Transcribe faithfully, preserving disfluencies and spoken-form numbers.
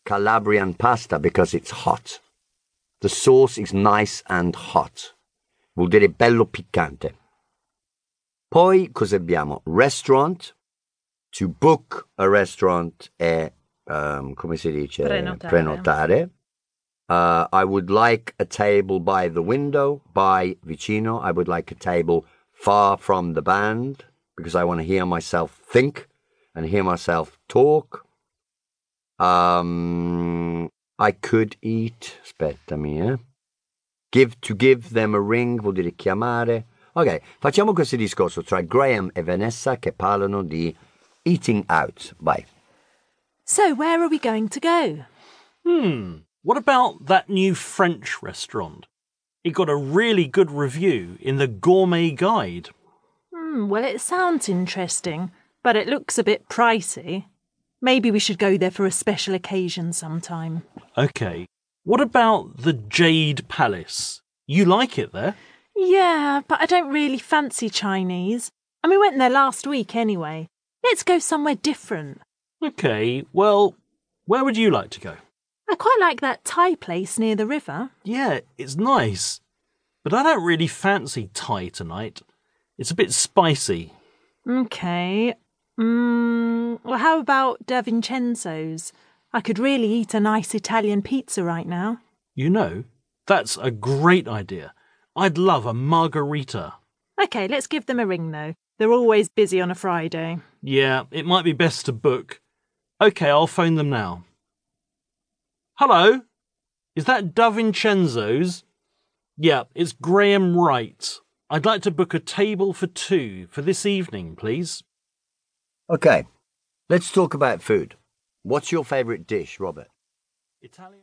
Calabrian pasta because it's hot. The sauce is nice and hot. Vuol dire bello piccante. Poi cosa abbiamo? Restaurant. To book a restaurant è, um, come si dice? Prenotare. Prenotare. Uh, I would like a table by the window, by vicino. I would like a table far from the band because I want to hear myself think and hear myself talk. Um, I could eat, aspettami, eh? Give, to give them a ring vuol dire chiamare. Ok, facciamo questo discorso tra Graham e Vanessa che parlano di eating out. Vai. So, where are we going to go? Hmm, what about that new French restaurant? It got a really good review in the Gourmet Guide. Hmm, well, it sounds interesting, but it looks a bit pricey. Maybe we should go there for a special occasion sometime. Okay, what about the Jade Palace? You like it there? Yeah, but I don't really fancy Chinese. And we went there last week anyway. Let's go somewhere different. Okay, well, where would you like to go? I quite like that Thai place near the river. Yeah, it's nice. But I don't really fancy Thai tonight. It's a bit spicy. Okay. Mm, well, how about Da Vincenzo's? I could really eat a nice Italian pizza right now. You know, that's a great idea. I'd love a margarita. Okay, let's give them a ring though. They're always busy on a Friday. Yeah, it might be best to book. Okay, I'll phone them now. Hello? Is that Da Vincenzo's? Yeah, it's Graham Wright. I'd like to book a table for two for this evening, please. Okay, let's talk about food. What's your favourite dish, Robert? Italian.